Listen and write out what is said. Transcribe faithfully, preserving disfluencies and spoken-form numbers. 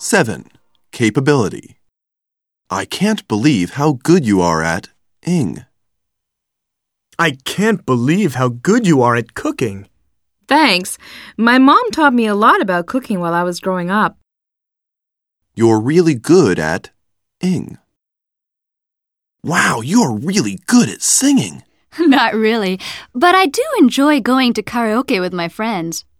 seven. Capability. I can't believe how good you are at ing. I can't believe how good you are at cooking. Thanks. My mom taught me a lot about cooking while I was growing up. You're really good at ing. Wow, you're really good at singing. Not really, but I do enjoy going to karaoke with my friends.